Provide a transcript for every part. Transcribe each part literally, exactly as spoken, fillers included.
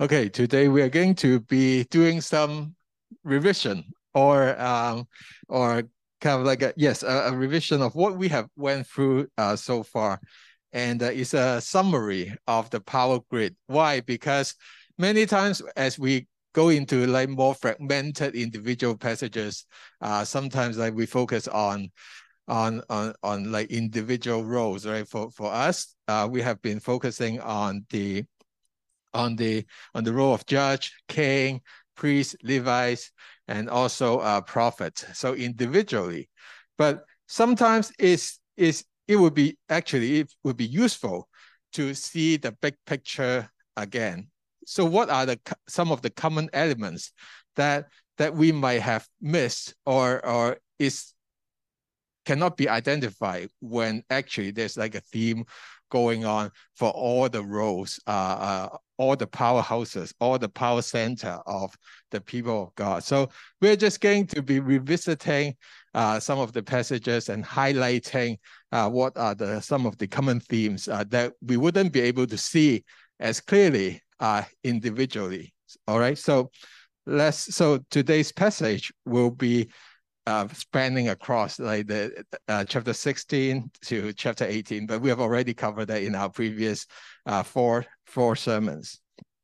Okay, today we are going to be doing some revision or um, or kind of like a yes, a, a revision of what we have went through uh, so far, and uh, it's a summary of the power grid. Why? Because many times as we go into like more fragmented individual passages, uh, sometimes like we focus on on on on like individual roles, right? For for us, uh, we have been focusing on the on the on the role of judge, king, priest, Levites, and also uh, prophets. So individually, but sometimes it's, it's it would be actually it would be useful to see the big picture again. So what are the some of the common elements that that we might have missed or or is cannot be identified when actually there's like a theme going on for all the roles, uh, uh, all the powerhouses, all the power center of the people of God. So we're just going to be revisiting uh, some of the passages and highlighting uh, what are the some of the common themes uh, that we wouldn't be able to see as clearly uh, individually. All right, so let's. So today's passage will be uh, spanning across like the uh, chapter sixteen to chapter eighteen, but we have already covered that in our previous uh, four, four sermons.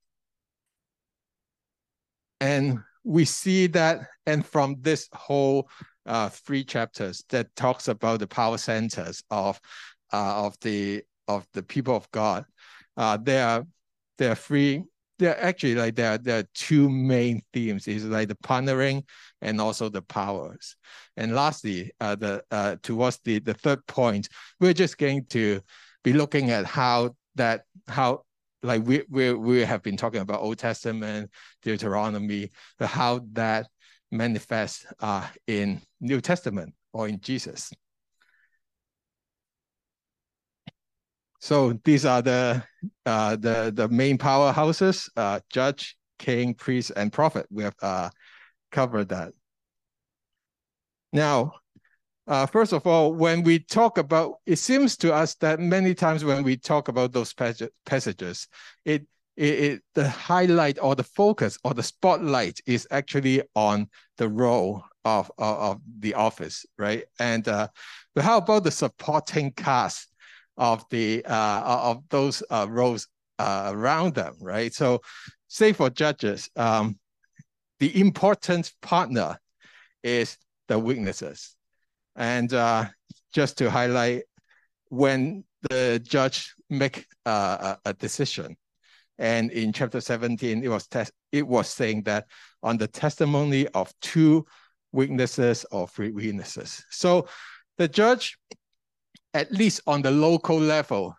And we see that, and from this whole uh, three chapters that talks about the power centers of uh, of the of the people of God, uh, there are there are three. There are actually like there are, there are two main themes. Is like the partnering and also the powers. And lastly, uh, the uh, towards the the third point, we're just going to be looking at how that how like we we we have been talking about Old Testament, Deuteronomy, how that manifests uh, in New Testament or in Jesus. So these are the uh, the the main powerhouses: uh, judge, king, priest, and prophet. We have uh, covered that. Now, uh, first of all, when we talk about, it seems to us that many times when we talk about those passages, it It, it, the highlight or the focus or the spotlight is actually on the role of, of, of the office, right? And uh, but how about the supporting cast of the uh, of those uh, roles uh, around them, right? So, say for judges, um, the important partner is the witnesses, and uh, just to highlight, when the judge make uh, a, a decision. And in chapter seventeen, it was it was saying that on the testimony of two witnesses or three witnesses. So the judge, at least on the local level,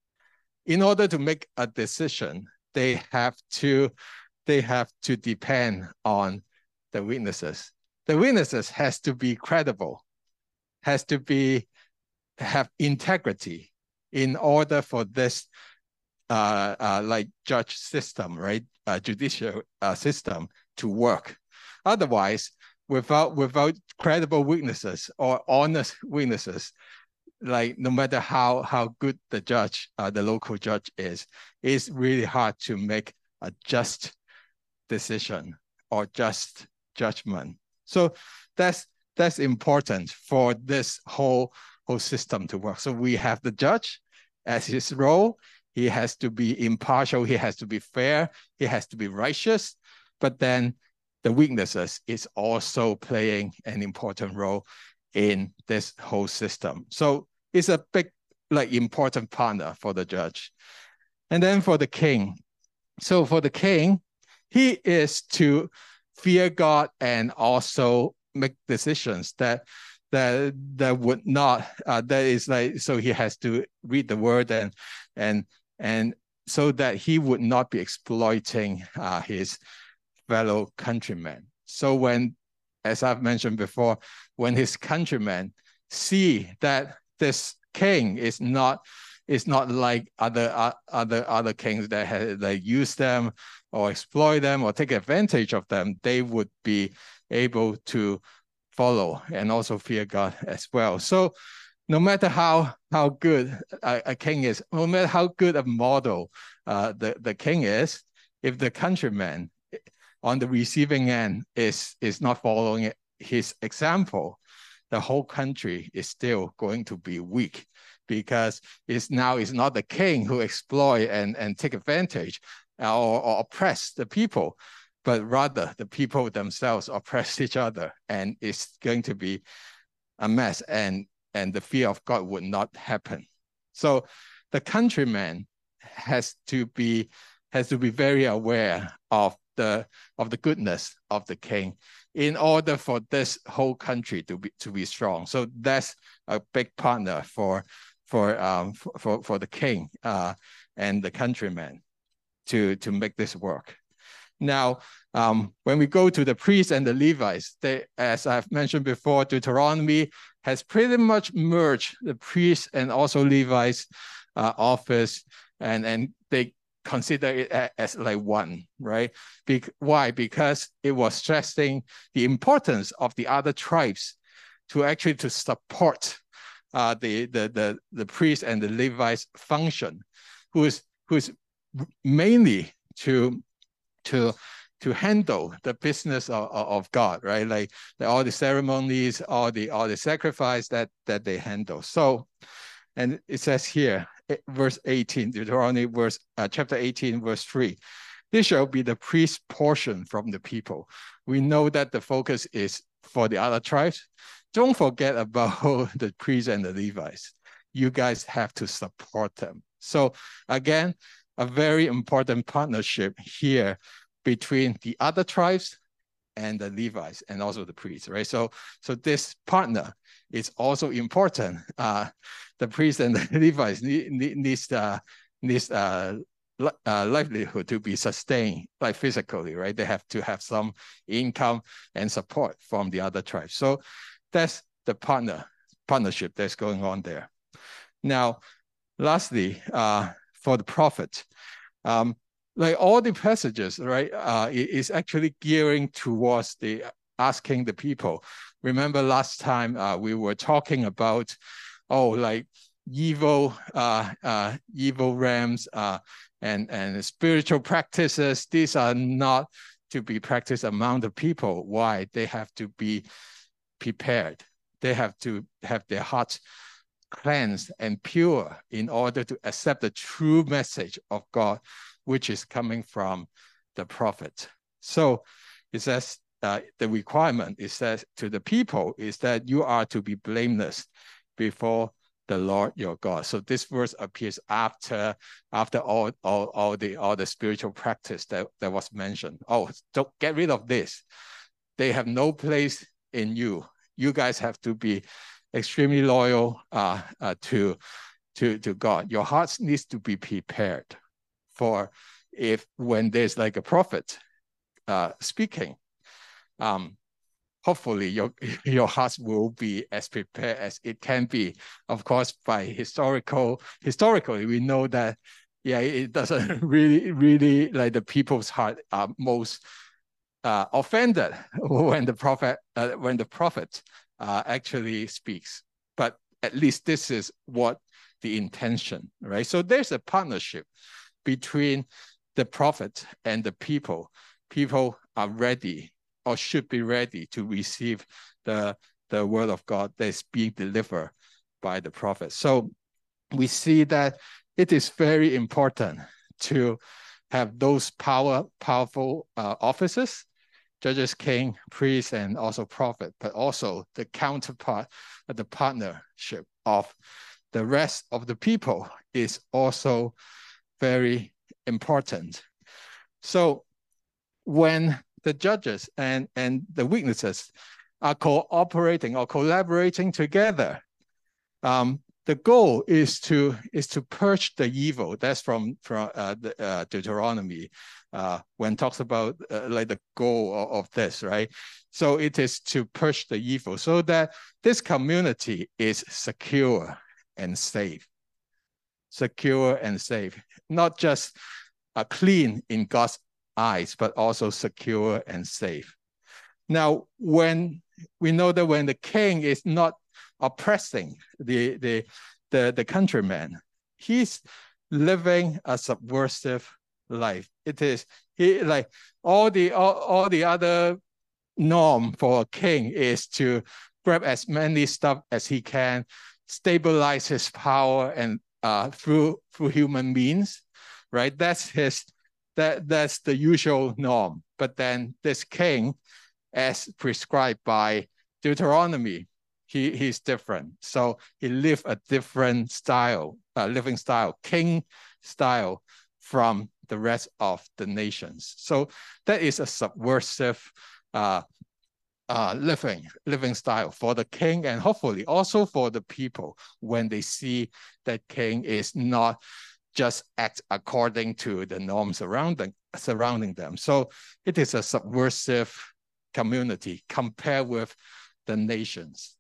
in order to make a decision, they have to they have to depend on the witnesses. The witnesses has to be credible, has to be have integrity in order for this Uh, uh, like judge system, right? Uh, judicial uh, system to work. Otherwise, without without credible witnesses or honest witnesses, like no matter how how good the judge, uh, the local judge is, it's really hard to make a just decision or just judgment. So that's that's important for this whole whole system to work. So we have the judge as his role. He has to be impartial. He has to be fair. He has to be righteous. But then the witnesses is also playing an important role in this whole system. So it's a big, like, important partner for the judge. And then for the king. So for the king, he is to fear God and also make decisions that that that would not uh, that is like, so he has to read the word and and and so that he would not be exploiting uh, his fellow countrymen. So when, as I've mentioned before, when his countrymen see that this king is not is not like other uh, other other kings that have, that use them or exploit them or take advantage of them, they would be able to follow and also fear God as well. So no matter how how good a, a king is, no matter how good a model uh, the, the king is, if the countryman on the receiving end is, is not following his example, the whole country is still going to be weak, because it's now it's not the king who exploit and, and take advantage or, or oppress the people, but rather the people themselves oppress each other, and it's going to be a mess, and, and the fear of God would not happen. So the countryman has to be has to be very aware of the of the goodness of the king in order for this whole country to be to be strong. So that's a big partner for for um for for the king uh, and the countryman to to make this work. Now, um, when we go to the priests and the Levites, they, as I've mentioned before, Deuteronomy has pretty much merged the priests and also Levites uh, office, and and they consider it as like one, right? Be why? Because it was stressing the importance of the other tribes to actually to support uh, the, the, the, the priests and the Levites function, who is, who is mainly to, to, to handle the business of, of God, right? Like, like all the ceremonies, all the, all the sacrifice that, that they handle. So, and it says here, verse eighteen, Deuteronomy verse, uh, chapter eighteen, verse three. This shall be the priest's portion from the people. We know that the focus is for the other tribes. Don't forget about the priests and the Levites. You guys have to support them. So again, a very important partnership here between the other tribes and the Levites and also the priests, right? So, so this partner is also important. Uh, the priests and the Levites need, need, needs uh, needs uh, uh, livelihood to be sustained, like physically, right? They have to have some income and support from the other tribes. So that's the partner partnership that's going on there. Now, lastly, uh, for the prophet, um, like all the passages, right, uh, is actually gearing towards the asking the people. Remember last time uh, we were talking about, oh, like evil, uh, uh, evil realms uh, and and spiritual practices. These are not to be practiced among the people. Why? They have to be prepared. They have to have their hearts cleansed and pure in order to accept the true message of God, which is coming from the prophet. So it says uh, the requirement is that to the people is that you are to be blameless before the Lord your God. So this verse appears after after all all, all the all the spiritual practice that, that was mentioned. Oh, don't get rid of this. They have no place in you. You guys have to be extremely loyal uh, uh, to, to, to God. Your hearts needs to be prepared for if when there's like a prophet uh, speaking, um, hopefully your, your hearts will be as prepared as it can be. Of course, by historical, historically, we know that, yeah, it doesn't really, really, like the people's heart are most uh, offended when the prophet, uh, when the prophet uh, actually speaks. But at least this is what the intention, right? So there's a partnership between the prophet and the people. People are ready or should be ready to receive the, the word of God that's being delivered by the prophet. So we see that it is very important to have those power, powerful uh, offices, judges, king, priest, and also prophet, but also the counterpart, the partnership of the rest of the people is also very important. So when the judges and, and the witnesses are cooperating or collaborating together, um, the goal is to is to purge the evil. That's from from uh, the, uh, Deuteronomy, uh, when it talks about uh, like the goal of, of this, right? So it is to purge the evil so that this community is secure and safe. Secure and safe, not just uh, clean in God's eyes, but also secure and safe. Now, when we know that when the king is not oppressing the, the, the, the countryman, he's living a subversive life. It is he like all the all, all the other norm for a king is to grab as many stuff as he can, stabilize his power and uh, through through human means, right? That's his that that's the usual norm. But then this king, as prescribed by Deuteronomy, he he's different. So he lived a different style, uh, living style, king style from the rest of the nations. So that is a subversive uh, uh, living living style for the king, and hopefully also for the people when they see that king is not just act according to the norms surrounding surrounding them. So it is a subversive community compared with the nations.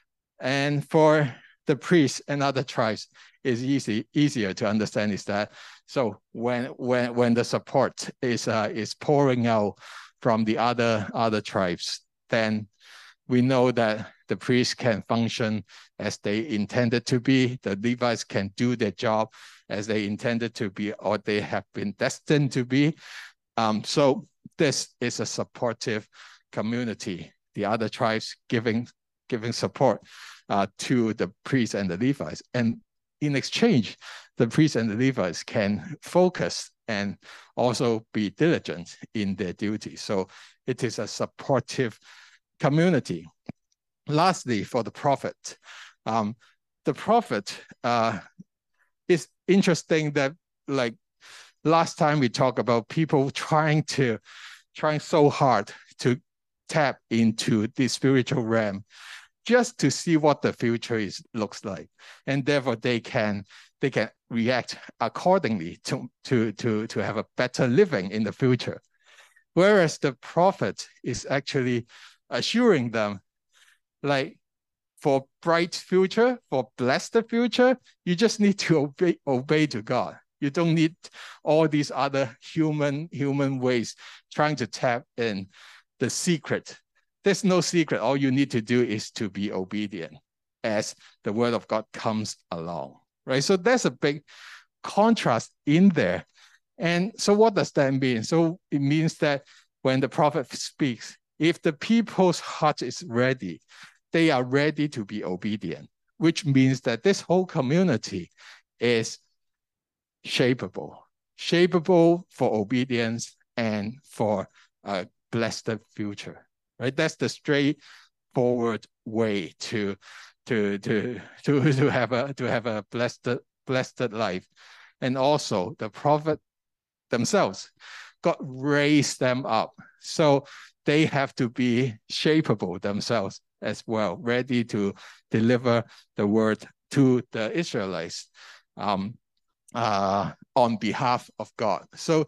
And for the priests and other tribes, is easy easier to understand is that so when when when the support is uh, is pouring out from the other other tribes, then we know that the priests can function as they intended to be, the Levites can do their job as they intended to be, or they have been destined to be. Um, so this is a supportive community, the other tribes giving giving support uh, to the priests and the Levites. And in exchange, the priests and the Levites can focus and also be diligent in their duty. So it is a supportive community. Lastly, for the prophet, um, the prophet uh, is interesting that like last time we talked about people trying to, trying so hard to tap into the spiritual realm just to see what the future is looks like, and therefore they can they can react accordingly to to to to have a better living in the future. Whereas the prophet is actually assuring them, like, for bright future, for blessed future, you just need to obey obey to God. You don't need all these other human human ways trying to tap in the secret. There's no secret. All you need to do is to be obedient as the word of God comes along, right? So there's a big contrast in there. And so what does that mean? So it means that when the prophet speaks, if the people's heart is ready, they are ready to be obedient, which means that this whole community is shapeable, shapeable for obedience and for a blessed future. Right, that's the straightforward way to to to to to have a to have a blessed blessed life. And also the prophet themselves, God raised them up, so they have to be shapeable themselves as well, ready to deliver the word to the Israelites um, uh, on behalf of God. So,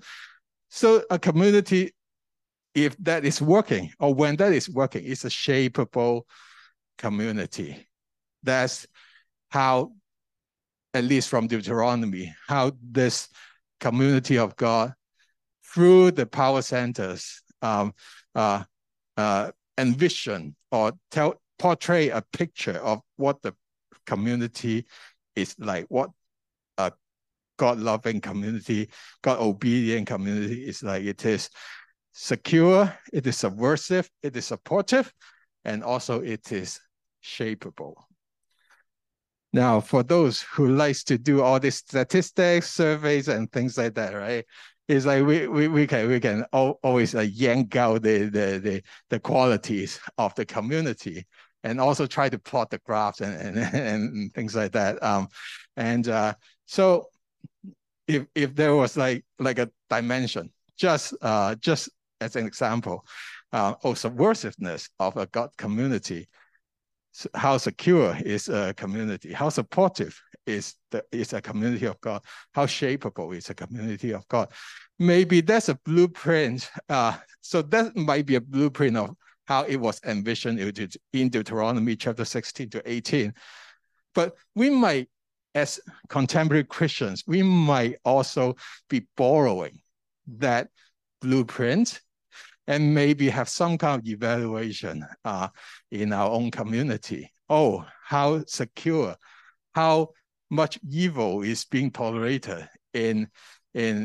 so a community, if that is working, or when that is working, it's a shapeable community. That's how, at least from Deuteronomy, how this community of God, through the power centers, um, uh, uh, envision or tell, portray a picture of what the community is like, what a God-loving community, God-obedient community is like. It is secure, it is subversive, it is supportive, and also it is shapeable. Now, for those who likes to do all these statistics, surveys, and things like that, right? It's like we we, we can we can always uh, yank out the, the the the qualities of the community, and also try to plot the graphs and and, and things like that. Um, and uh, so if if there was like like a dimension, just uh just as an example, uh, of subversiveness of a God community, so how secure is a community, how supportive is the is a community of God, how shapeable is a community of God. Maybe that's a blueprint. Uh, so that might be a blueprint of how it was envisioned in Deuteronomy chapter sixteen to eighteen. But we might, as contemporary Christians, we might also be borrowing that blueprint and maybe have some kind of evaluation uh, in our own community. Oh, how secure, how much evil is being tolerated in, in,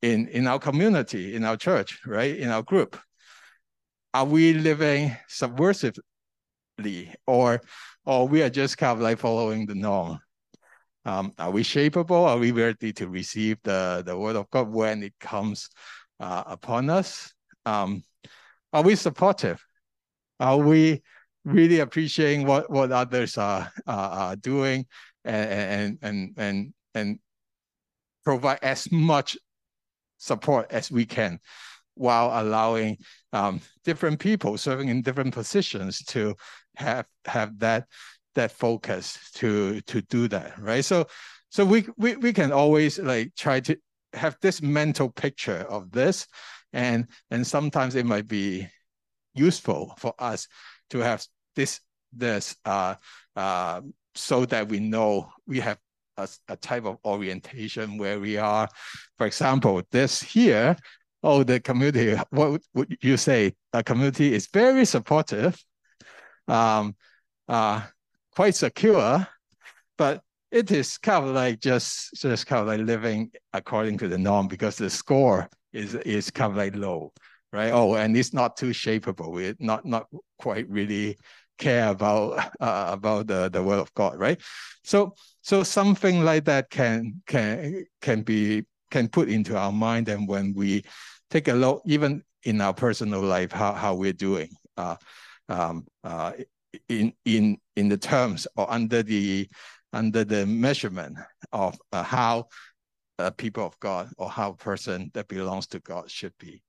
in, in our community, in our church, right? In our group. Are we living subversively, or, or we are just kind of like following the norm? Um, are we shapeable? Are we ready to receive the, the word of God when it comes uh, upon us? Um, are we supportive? Are we really appreciating what, what others are, are, are doing and, and, and, and, and provide as much support as we can, while allowing um, different people serving in different positions to have have that that focus to to do that, right? So so we we we can always like try to have this mental picture of this, and and sometimes it might be useful for us to have this this uh uh so that we know we have a, a type of orientation where we are. For example, this here, oh, the community, what would you say? The community is very supportive, um, uh, quite secure, but it is kind of like just, just kind of like living according to the norm because the score is, is kind of like low, right? Oh, and it's not too shapeable. We not, not quite really care about uh, about the, the word of God, right? So so something like that can can can be can put into our mind, and when we take a look, even in our personal life, how how we're doing uh, um, uh, in in in the terms or under the under the measurement of uh, how a people of God or how a person that belongs to God should be.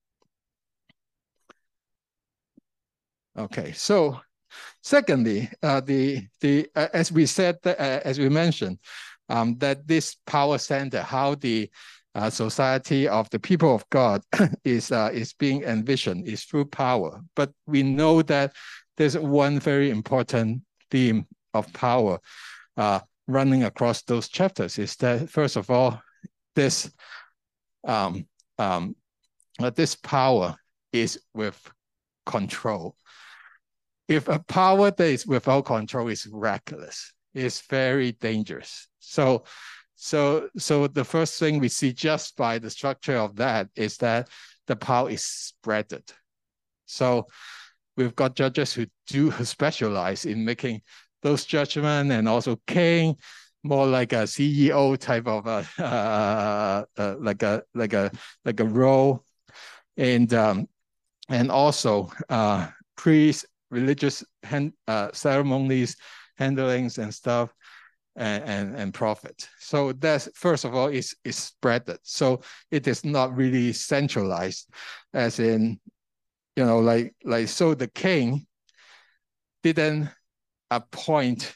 Okay, so secondly, uh, the the uh, as we said, uh, as we mentioned, um, that this power center, how the uh, society of the people of God is uh, is being envisioned, is through power. But we know that there's one very important theme of power uh, running across those chapters. Is that first of all, this um, um, uh, this power is with control. If a power that is without control is reckless, it's very dangerous. So, so, so the first thing we see just by the structure of that is that the power is spreaded. So we've got judges who do who specialize in making those judgments, and also king, more like a C E O type of a uh, uh, like a like a like a role, and um, and also uh, priests, religious hand, uh, ceremonies, handlings and stuff, and, and, and profit. So that's, first of all, is is spreaded. So it is not really centralized, as in, you know, like, like so the king didn't appoint,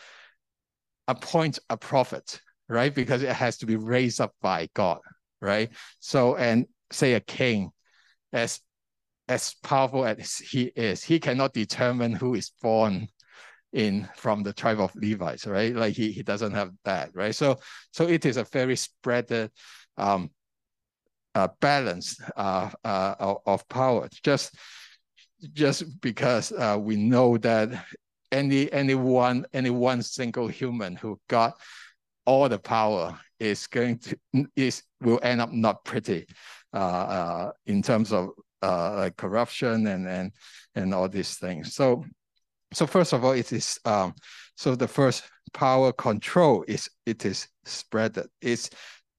appoint a prophet, right? Because it has to be raised up by God, right? So, and say a king, as as powerful as he is, he cannot determine who is born in from the tribe of Levites, right? Like he, he doesn't have that, right? So so it is a very spread um, uh, balance uh, uh, of, of power. Just just because uh, we know that any any one any one single human who got all the power is going to is will end up not pretty uh, uh, in terms of uh, like corruption and and and all these things. So so first of all, it is um, so the first power control is it is spread. It's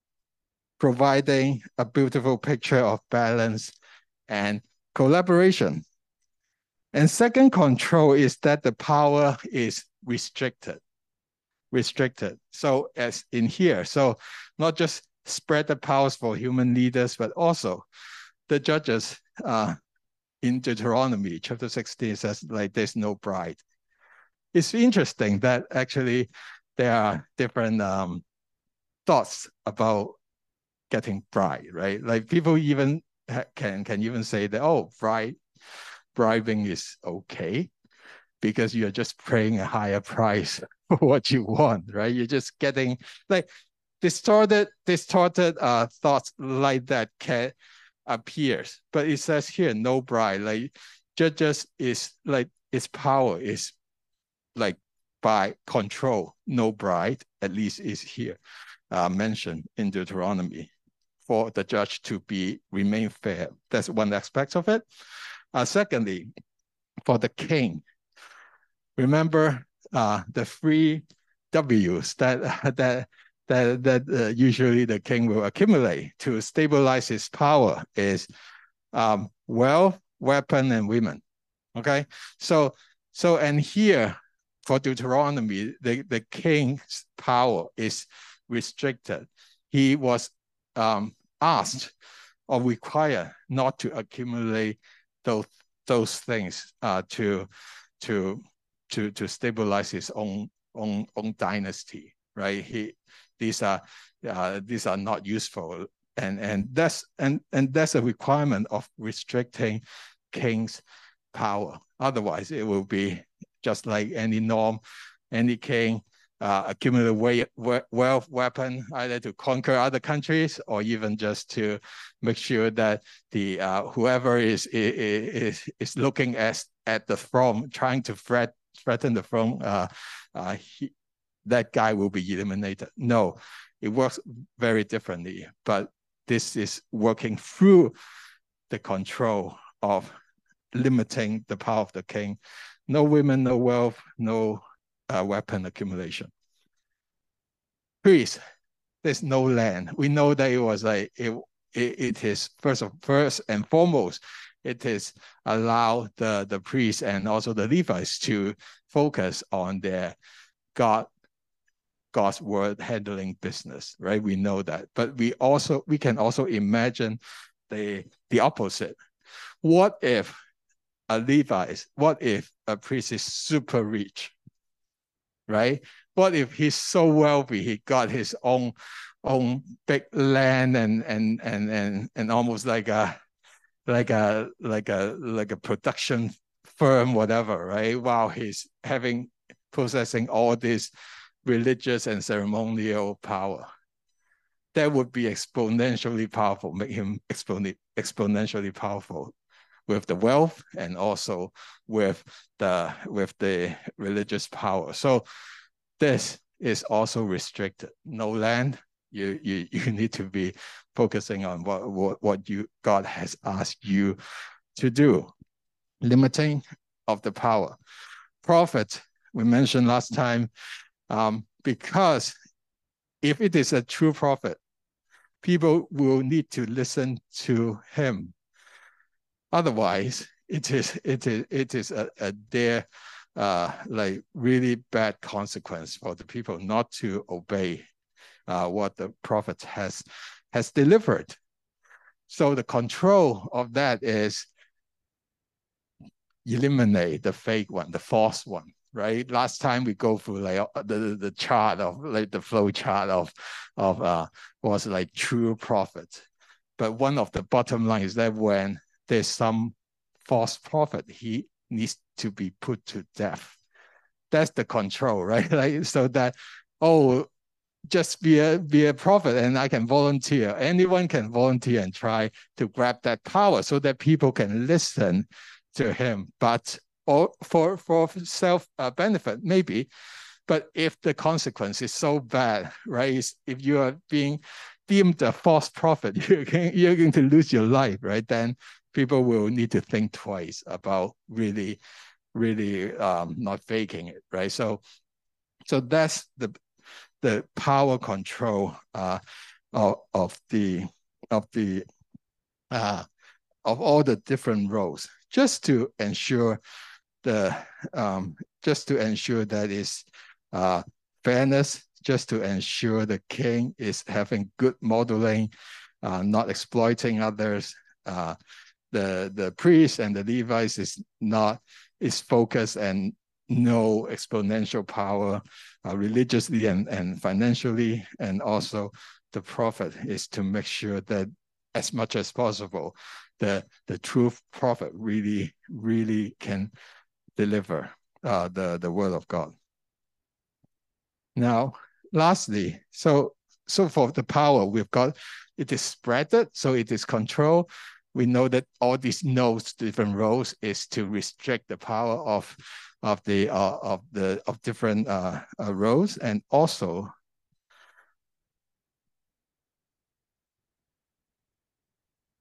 providing a beautiful picture of balance and collaboration. And second control is that the power is restricted. Restricted. So as in here, so not just spread the powers for human leaders, but also the judges uh, in Deuteronomy chapter sixteen says like there's no bride. It's interesting that actually there are different um, thoughts about getting bride, right? Like people even can can even say that, oh, bride bribing is okay because you're just paying a higher price for what you want, right? You're just getting like distorted, distorted uh, thoughts like that can appears, but it says here no bride. Like judges is like its power is like by control, no bride. At least is here uh, mentioned in Deuteronomy. for the judge to be remain fair. That's one aspect of it. Uh, secondly, for the king, remember uh, the three W's that that that that uh, usually the king will accumulate to stabilize his power is um, wealth, weapon, and women. Okay, so so and here for Deuteronomy, the, the king's power is restricted. He was um, asked or required not to accumulate those those things uh, to to to to stabilize his own own own dynasty, right? He these are uh, these are not useful, and and that's and and that's a requirement of restricting king's power. Otherwise, it will be just like any norm, any king uh, accumulate wealth, weapon, either to conquer other countries or even just to make sure that the uh, whoever is, is is looking at at the throne, trying to threat, threaten the throne, uh, uh, he, that guy will be eliminated. No, it works very differently. But this is working through the control of limiting the power of the king. No women, no wealth, no uh, weapon accumulation. Priest, there's no land. We know that it was like it. It, it is first of first and foremost, it is allow the the priests and also the Levites to focus on their God God's word handling business, right? We know that, but we also we can also imagine the the opposite. What if a Levite, what if a priest is super rich, right? What if he's so wealthy, he got his own own big land and and and and and almost like a like a like a like a production firm, whatever, right? While he's having possessing all this religious and ceremonial power. That would be exponentially powerful, make him exponentially powerful with the wealth and also with the with the religious power. So this is also restricted. No land. You you you need to be focusing on what what, what you God has asked you to do. Limiting of the power. Prophet, we mentioned last time, um, because if it is a true prophet, people will need to listen to him. Otherwise, it is it is it is a, a dare uh, like really bad consequence for the people not to obey uh, what the prophet has has delivered. So the control of that is eliminate the fake one, the false one, right? Last time we go through like the the chart of like the flow chart of of uh was like true prophet, but one of the bottom line is that when there's some false prophet, he needs to be put to death. That's the control, right? Like so that oh, just be a be a prophet and I can volunteer. Anyone can volunteer and try to grab that power so that people can listen to him, but or for for self uh, benefit maybe. But if the consequence is so bad, right? If you are being deemed a false prophet, you're going, you're going to lose your life, right? Then people will need to think twice about really, really um, not faking it, right? So, so that's the the power control uh, of, of the of the uh, of all the different roles, just to ensure the um, just to ensure that is uh, fairness, just to ensure the king is having good modeling, uh, not exploiting others. Uh, the the priest and the Levites is not is focused and no exponential power uh, religiously and, and financially, and also the prophet is to make sure that as much as possible the the true prophet really really can deliver uh, the the word of God. Now, lastly, so so for the power we've got, it is spreaded, so it is controlled. We know that all these nodes, different roles, is to restrict the power of of the uh, of the of different uh, uh, roles, and also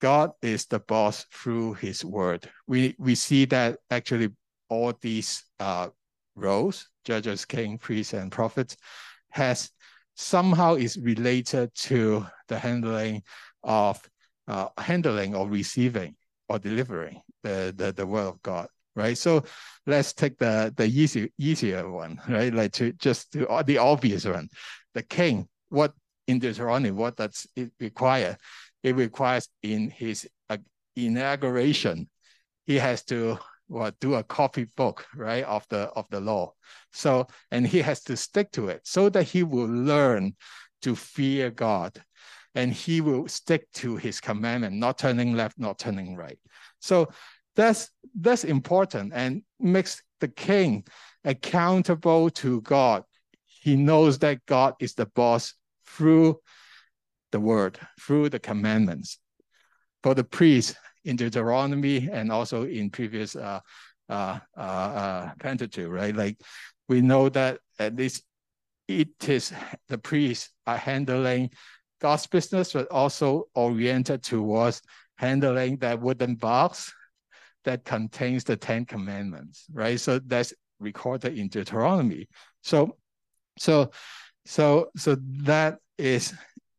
God is the boss through his word. We, we see that actually all these uh, roles, judges, king, priests, and prophets, has somehow is related to the handling of uh, handling or receiving or delivering the, the, the word of God, right? So let's take the, the easy, easier one, right? Like to just to, the obvious one. The king, what in Deuteronomy, what does it require? It requires in his uh, inauguration, he has to what, do a copybook, right, of the of the law. So, and he has to stick to it so that he will learn to fear God, and he will stick to his commandment, not turning left, not turning right. So that's that's important and makes the king accountable to God. He knows that God is the boss through the word, through the commandments. For the priest in Deuteronomy and also in previous uh, uh, uh, uh, Pentateuch, right? Like we know that at least it is the priests are handling God's business, but also oriented towards handling that wooden box that contains the Ten Commandments, right? So that's recorded in Deuteronomy. So, so, so, so that is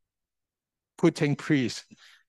putting priests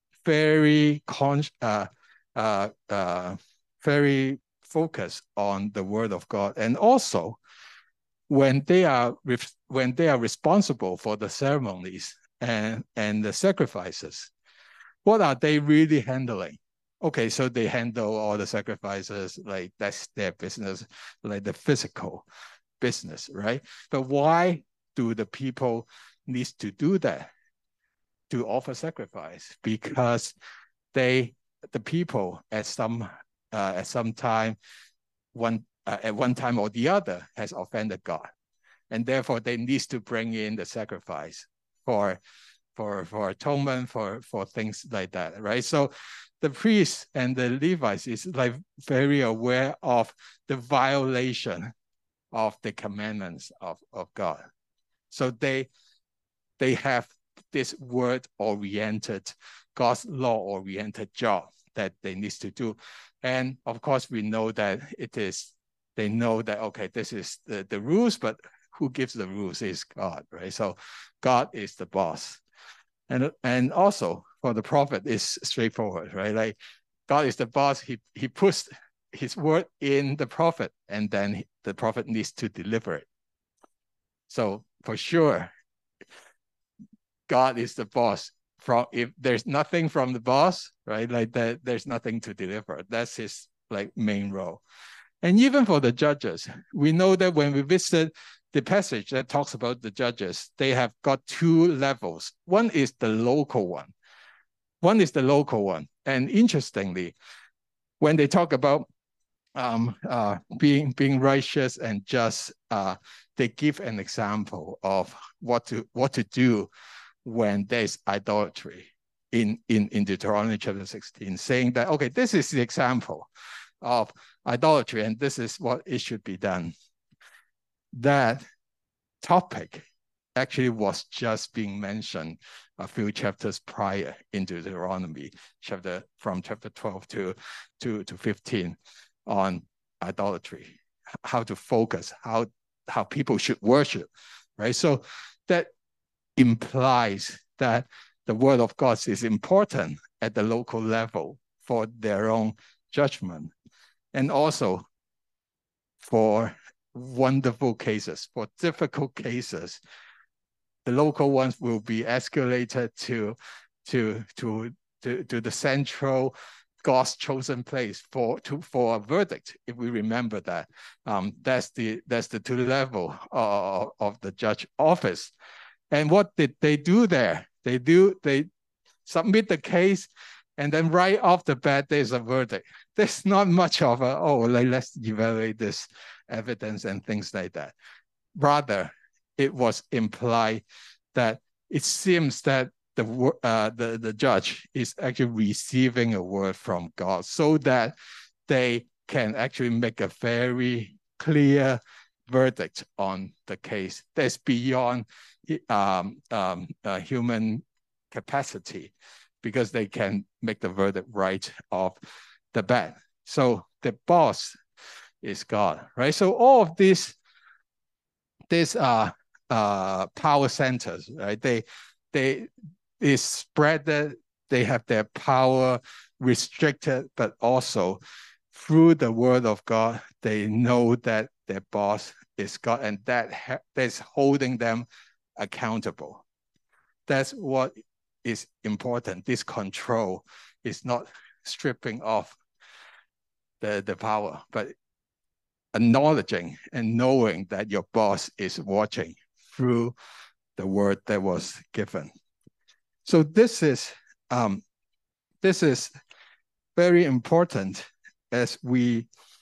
very con uh, uh, uh, very focused on the word of God, and also when they are when they are responsible for the ceremonies and and the sacrifices, what are they really handling? Okay, so they handle all the sacrifices, like that's their business, like the physical business, right? But why do the people need to do that? To offer sacrifice? Because they, the people at some uh, at some time, one uh, at one time or the other has offended God, and therefore they need to bring in the sacrifice for for for atonement, for for things like that, right? So the priests and the Levites is like very aware of the violation of the commandments of of God, so they they have this word-oriented, God's law-oriented job that they need to do. And of course, we know that it is, they know that, okay, this is the, the rules, but who gives the rules is God, right? So God is the boss. And, and also for the prophet, it's straightforward, right? Like God is the boss, he, he puts his word in the prophet, and then the prophet needs to deliver it. So for sure, God is the boss. From if there's nothing from the boss, right? Like that, there's nothing to deliver. That's his like main role. And even for the judges, we know that when we visit the passage that talks about the judges, they have got two levels. One is the local one. One is the local one. And interestingly, when they talk about um, uh, being being righteous and just, uh, they give an example of what to what to do when there's idolatry in, in, in Deuteronomy chapter sixteen, saying that, okay, this is the example of idolatry and this is what it should be done. That topic actually was just being mentioned a few chapters prior in Deuteronomy, chapter from chapter twelve to, to, to fifteen on idolatry, how to focus, how, how people should worship, right? So that implies that the word of God is important at the local level for their own judgment, and also for wonderful cases, for difficult cases, the local ones will be escalated to, to, to, to, to the central God's chosen place for, to, for a verdict. If we remember that, um, that's the that's the two level of, of the judge office. And what did they do there? They do, they submit the case, and then right off the bat, there's a verdict. There's not much of a, oh, like, let's evaluate this evidence and things like that. Rather, it was implied that it seems that the, uh, the, the judge is actually receiving a word from God so that they can actually make a very clear verdict on the case that's beyond um, um, uh, human capacity, because they can make the verdict right of the bad. So the boss is God, right? So all of these, these are uh, power centers, right? They, they is spread that they have their power restricted, but also through the word of God, they know that their boss is God, and that that's holding them accountable. That's what is important. This control is not stripping off the, the power, but acknowledging and knowing that your boss is watching through the word that was given. So this is um, this is very important as we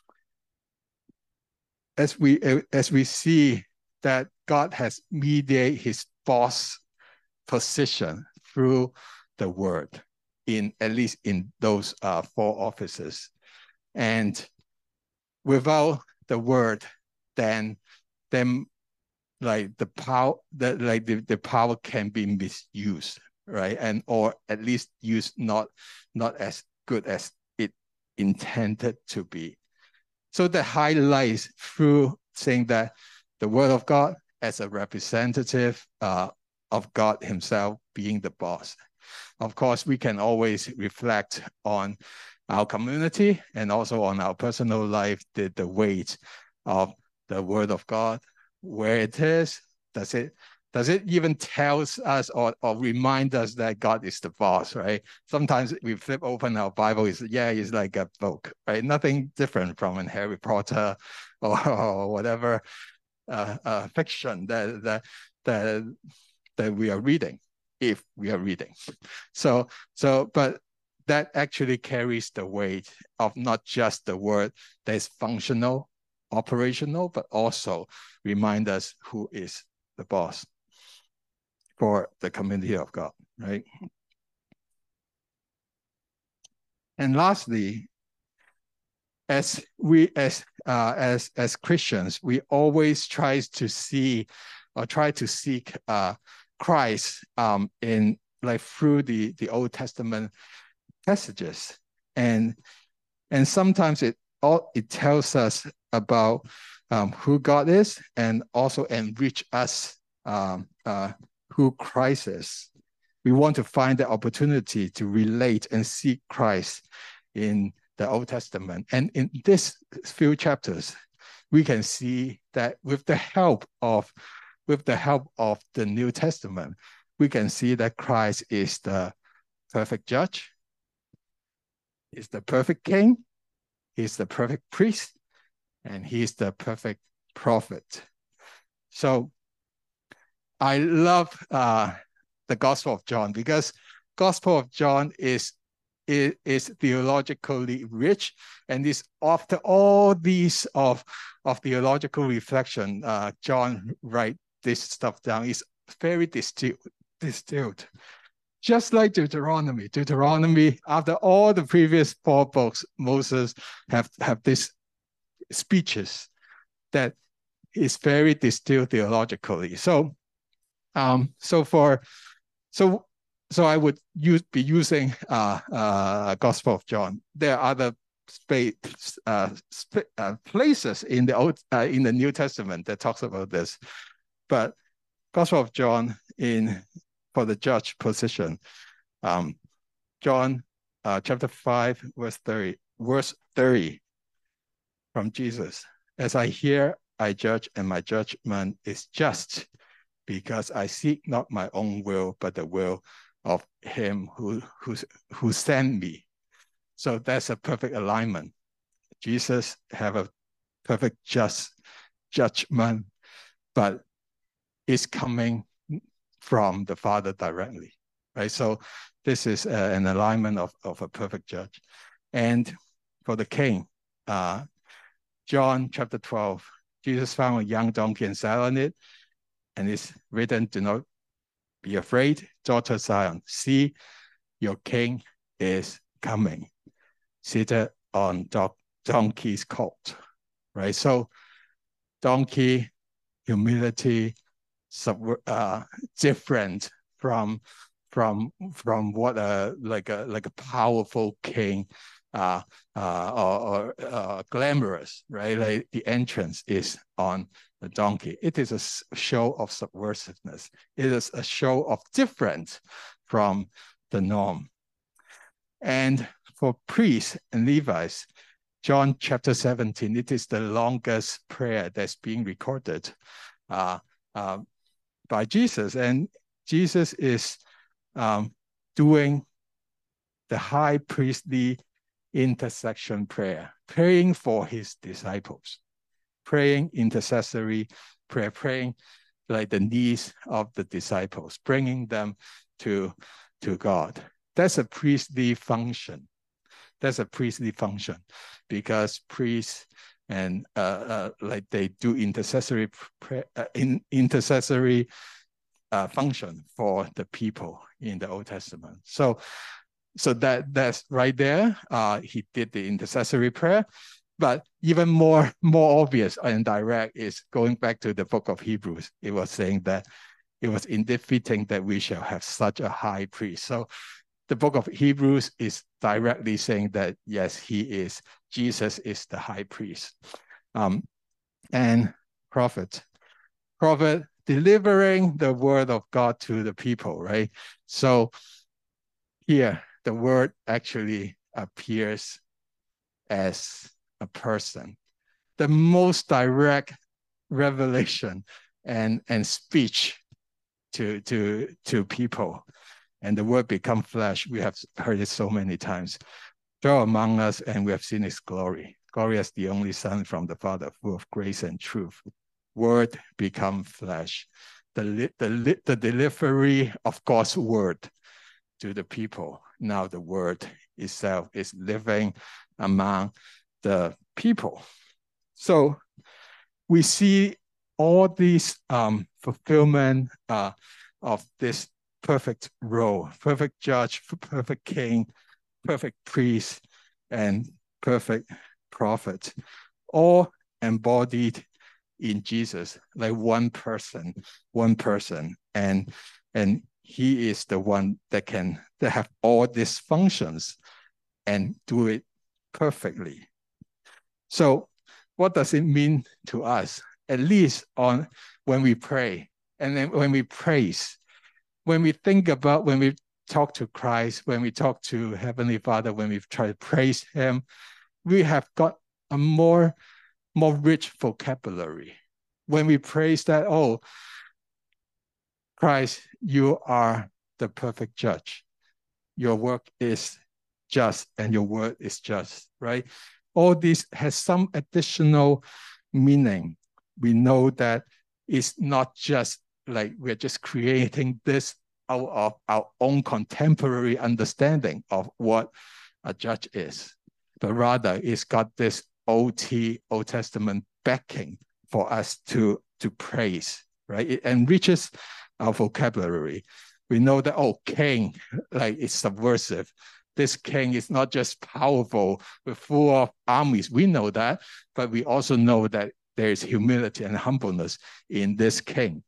as we as we see that God has mediated his boss position through the word in at least in those uh, four offices. And without the word, then then like the power that like the, the power can be misused, right? And or at least used not not as good as it intended to be. So that highlights through saying that the word of God as a representative uh, of God himself being the boss. Of course, we can always reflect on our community and also on our personal life, the, the weight of the word of God, where it is. Does it does it even tell us or, or remind us that God is the boss, right? Sometimes we flip open our Bible, it's, yeah, it's like a book, right? Nothing different from in Harry Potter or, or whatever uh, uh, fiction that, that, that, that we are reading, if we are reading. So, so, but that actually carries the weight of not just the word that is functional, operational, but also remind us who is the boss for the community of God, right? And lastly, as we as uh, as as Christians, we always try to see or try to seek uh, Christ um, in like through the the Old Testament passages, and and sometimes it all it tells us about um, who God is, and also enrich us um, uh, who Christ is. We want to find the opportunity to relate and seek Christ in the Old Testament. And in this few chapters, we can see that with the help of with the help of the New Testament, we can see that Christ is the perfect judge, is the perfect king, he's the perfect priest, and he's the perfect prophet. So I love uh, the Gospel of John because Gospel of John is, is, is theologically rich, and is after all these of, of theological reflection, uh, John write this stuff down. It's very distilled, distilled. Just like Deuteronomy. Deuteronomy, after all the previous four books, Moses have, have these speeches that is very distilled theologically. So, um, so for, so, so I would use, be using uh, uh, Gospel of John. There are other space, uh, sp uh, places in the old, uh, in the New Testament that talks about this, but Gospel of John in for the judge position. Um, John uh, chapter five, verse thirty, verse thirty from Jesus. As I hear, I judge, and my judgment is just, because I seek not my own will, but the will of him who, who, who sent me. So that's a perfect alignment. Jesus have a perfect just judgment, but it's coming from the Father directly, right? So this is uh, an alignment of, of a perfect judge. And for the king, uh, John chapter twelve, Jesus found a young donkey and sat on it, and it's written, do not be afraid, daughter Zion. See, your king is coming, seated on donkey's colt, right? So donkey, humility, sub, uh, different from from from what a like a like a powerful king uh, uh, or, or uh, glamorous, right? Like the entrance is on the donkey. It is a show of subversiveness. It is a show of difference from the norm. And for priests and Levites, John chapter seventeen, it is the longest prayer that's being recorded uh, uh, by Jesus. And Jesus is um, doing the high priestly intercession prayer, praying for his disciples, praying intercessory prayer, praying like the needs of the disciples, bringing them to, to God. That's a priestly function. That's a priestly function because priests and uh, uh, like they do intercessory prayer, uh, in intercessory uh, function for the people in the Old Testament. So, so that that's right there. Uh, he did the intercessory prayer, but even more more obvious and direct is going back to the book of Hebrews. It was saying that it was indeed fitting that we shall have such a high priest. So the book of Hebrews is directly saying that, yes, he is, Jesus is the high priest. Um, and prophet, prophet delivering the word of God to the people, right? So here, the word actually appears as a person. The most direct revelation and, and speech to, to, to people. And the word become flesh. We have heard it so many times. Dwell among us, and we have seen his glory. Glory as the only Son from the Father, full of grace and truth. Word become flesh. The, the, the delivery of God's word to the people. Now the word itself is living among the people. So we see all these um, fulfillment uh, of this perfect role, perfect judge, perfect king, perfect priest, and perfect prophet, all embodied in Jesus, like one person, one person. And, and he is the one that can that have all these functions and do it perfectly. So what does it mean to us? At least on when we pray, and then when we praise, when we think about, when we talk to Christ, when we talk to Heavenly Father, when we try to praise him, we have got a more, more rich vocabulary. When we praise that, oh, Christ, you are the perfect judge. Your work is just and your word is just, right? All this has some additional meaning. We know that it's not just like we're just creating this out of our own contemporary understanding of what a judge is, but rather it's got this O T, Old Testament backing for us to, to praise, right? It enriches our vocabulary. We know that, oh, king, like it's subversive. This king is not just powerful, but full of armies. We know that, but we also know that there is humility and humbleness in this king.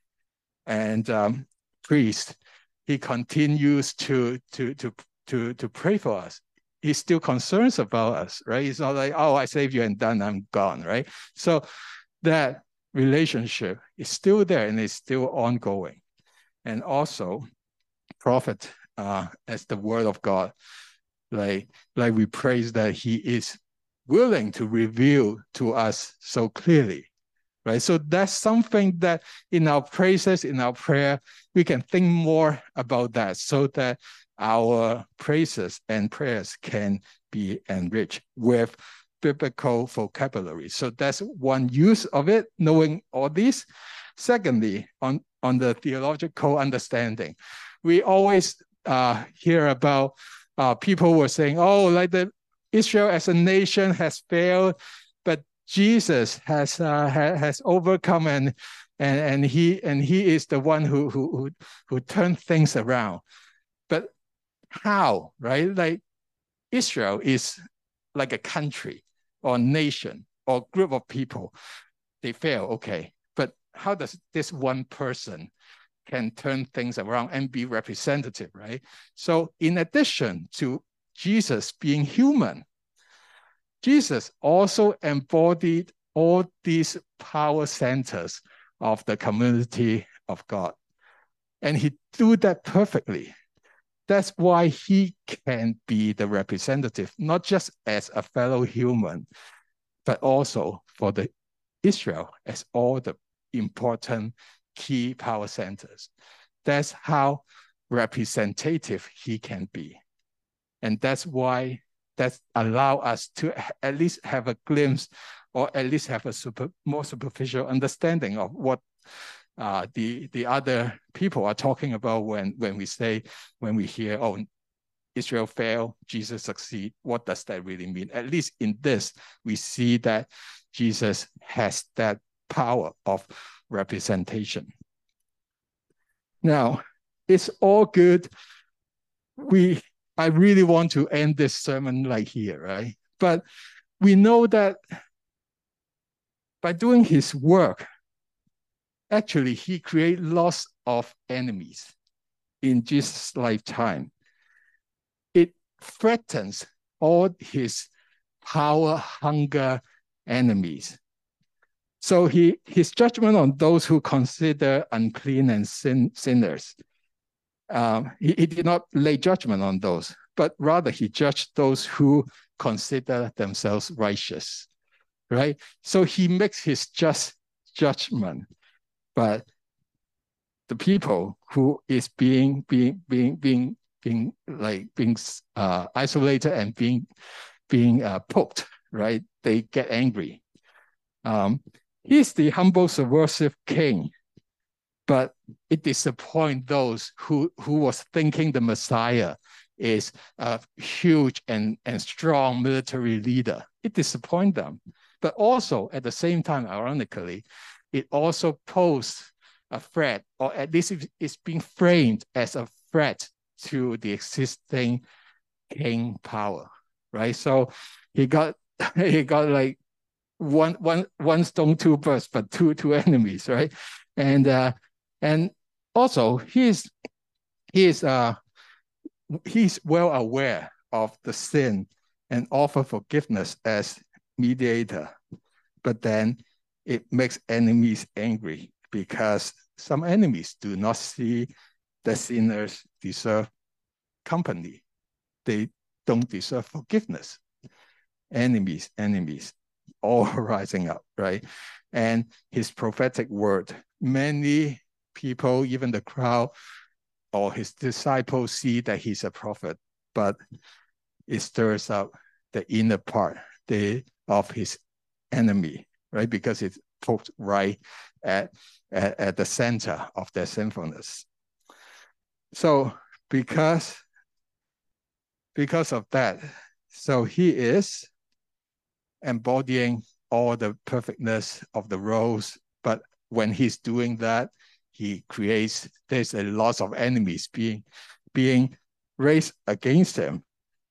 And um, priest, he continues to, to, to, to, to pray for us. He still concerns about us, right? It's not like, oh, I saved you and done, I'm gone, right? So that relationship is still there and it's still ongoing. And also, prophet uh, as the word of God, like, like we praise that he is willing to reveal to us so clearly, right? So that's something that in our praises, in our prayer, we can think more about that so that our praises and prayers can be enriched with biblical vocabulary. So that's one use of it, knowing all these. Secondly, on, on the theological understanding, we always uh, hear about uh, people were saying, oh, like the Israel as a nation has failed, but Jesus has uh, ha, has overcome and and and he and he is the one who who who, who turned things around. But how, right? Like Israel is like a country or nation or group of people. They fail, okay. But how does this one person can turn things around and be representative, right? So in addition to Jesus being human, Jesus also embodied all these power centers of the community of God. And he do that perfectly. That's why he can be the representative, not just as a fellow human, but also for the Israel as all the important key power centers. That's how representative he can be. And that's why that allow us to at least have a glimpse or at least have a super, more superficial understanding of what uh, the, the other people are talking about when, when we say, when we hear, oh, Israel failed, Jesus succeed. What does that really mean? At least in this, we see that Jesus has that power of representation. Now, it's all good. We, I really want to end this sermon like here, right? But we know that by doing his work, actually, he created lots of enemies in Jesus' lifetime. It threatens all his power, hunger enemies. So he, his judgment on those who consider unclean and sin, sinners, um, he, he did not lay judgment on those, but rather he judged those who consider themselves righteous, right? So he makes his just judgment, but the people who is being being being being being like being uh, isolated and being being uh, poked, right? They get angry. Um, he's the humble, subversive king, but it disappoints those who who was thinking the Messiah is a huge and and strong military leader. It disappoints them, but also at the same time, ironically, it also posed a threat, or at least it's being framed as a threat to the existing king power, right? So he got he got like one one one stone, two birds, but two two enemies, right? And uh, and also he's he's uh he's well aware of the sin and offer forgiveness as mediator, but then it makes enemies angry, because some enemies do not see the sinners deserve company. They don't deserve forgiveness. Enemies, enemies, all rising up, right? And his prophetic word, many people, even the crowd or his disciples, see that he's a prophet, but it stirs up the inner part the, of his enemy, right? Because it's poked right at, at, at the center of their sinfulness. So because, because of that, so he is embodying all the perfectness of the roles, but when he's doing that, he creates, there's a lot of enemies being, being raised against him.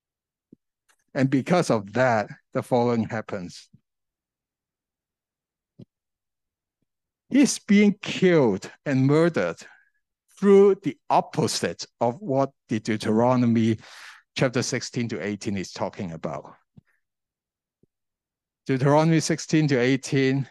And because of that, the following happens. He's being killed and murdered through the opposite of what the Deuteronomy chapter sixteen to eighteen is talking about. Deuteronomy sixteen to eighteen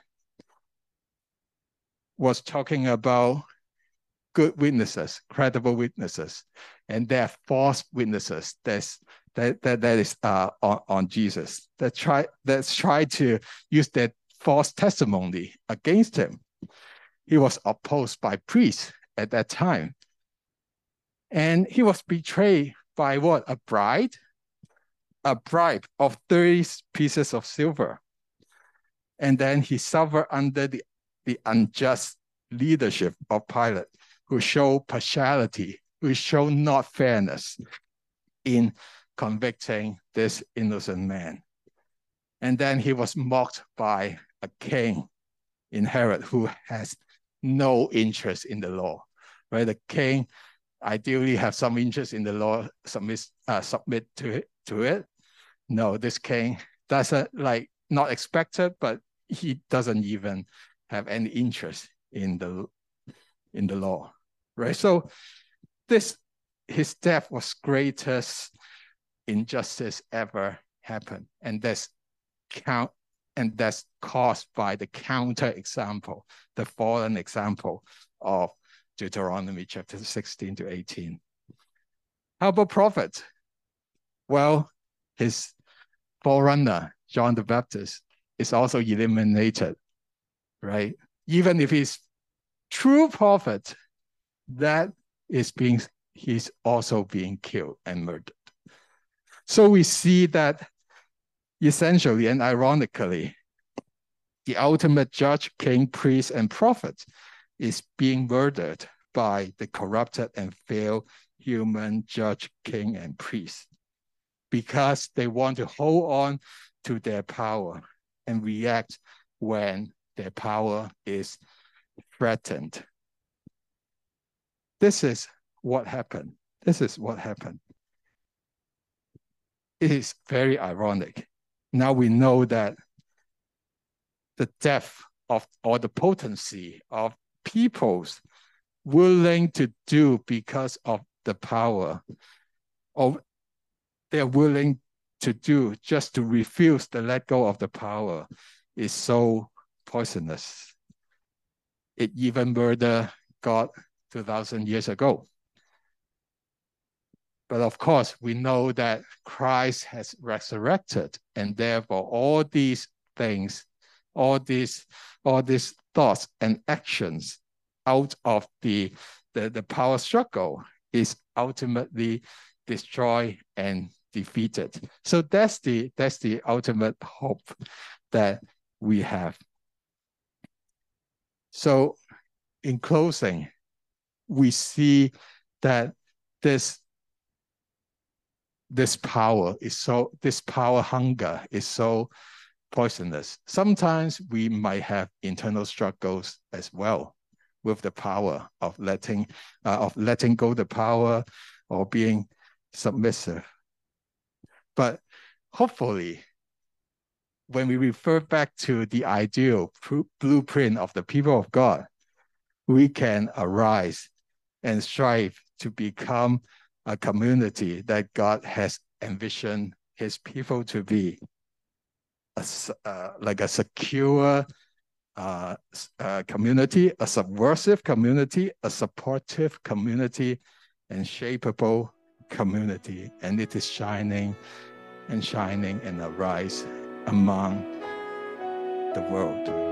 was talking about good witnesses, credible witnesses, and there are false witnesses that's, that, that, that is uh, on, on Jesus that try, that's try to use that false testimony against him. He was opposed by priests at that time. And he was betrayed by what? A bride? A bribe of thirty pieces of silver. And then he suffered under the, the unjust leadership of Pilate, who showed partiality, who showed not fairness in convicting this innocent man. And then he was mocked by a king in Herod who has no interest in the law, right? The king ideally have some interest in the law, submit, uh, submit to it, to it. No, this king doesn't, like, not expected, but he doesn't even have any interest in the in the law. right? So this, his death was greatest injustice ever happened, and that's count, and that's caused by the counter example, the fallen example of Deuteronomy chapter sixteen to eighteen. How about prophet? Well, his forerunner, John the Baptist, is also eliminated, right? Even if he's true prophet, that is being, he's also being killed and murdered. So we see that essentially and ironically, the ultimate judge, king, priest, and prophet is being murdered by the corrupted and failed human judge, king, and priest, because they want to hold on to their power and react when their power is threatened. This is what happened. This is what happened. It is very ironic. Now we know that the depth of, or the potency of peoples willing to do because of the power, or they're willing to do just to refuse to let go of the power, is so poisonous. It even murdered God two thousand years ago. But of course, we know that Christ has resurrected, and therefore all these things, all these, all these thoughts and actions out of the, the, the power struggle is ultimately destroyed and defeated. So that's the, that's the ultimate hope that we have. So in closing, we see that this this power is so, this power hunger is so poisonous. Sometimes we might have internal struggles as well with the power of letting, uh, of letting go the power or being submissive. But hopefully, when we refer back to the ideal blueprint of the people of God, we can arise and strive to become a community that God has envisioned his people to be, a, uh, like a secure uh, uh, community, a subversive community, a supportive community, and shapeable community. And it is shining and shining and arise among the world.